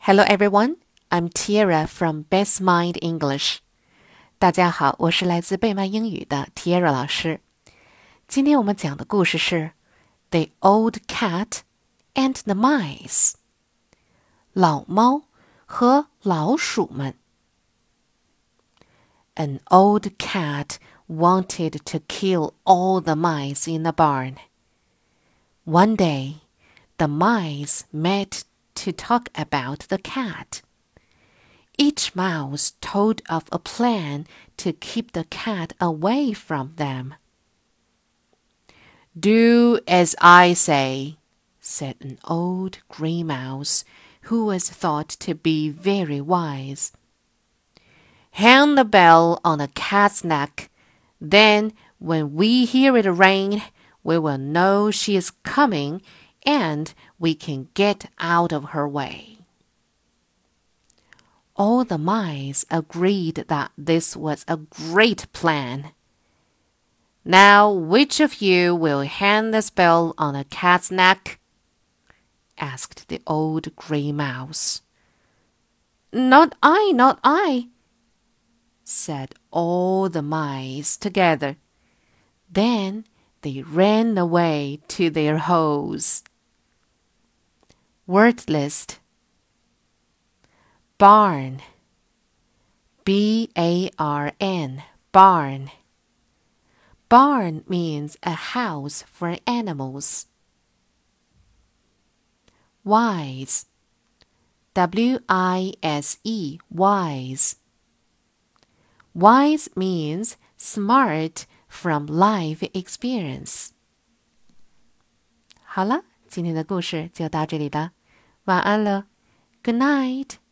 Hello everyone, I'm Tiara from Best Mind English. 大家好，我是来自贝曼英语的 Tiara 老师。今天我们讲的故事是 The Old Cat and the Mice. 老猫和老鼠们。An old cat wanted to kill all the mice in the barn. One day, the mice met to talk about the cat. Each mouse told of a plan to keep the cat away from them. Do as I say, said an old gray mouse who was thought to be very wise. Hang the bell on the cat's neck. Then, when we hear it ring, we will know she is coming and we can get out of her way. All the mice agreed that this was a great plan. Now, which of you will hang this bell on the cat's neck? Asked the old gray mouse. Not I, not I, said all the mice together. Then they ran away to their holes. Word list. Barn, B-A-R-N, barn. Barn means a house for animals. Wise, W-I-S-E, wise. Wise means smart from life experience. 好了，今天的故事就到这里了，晚安了。Good night.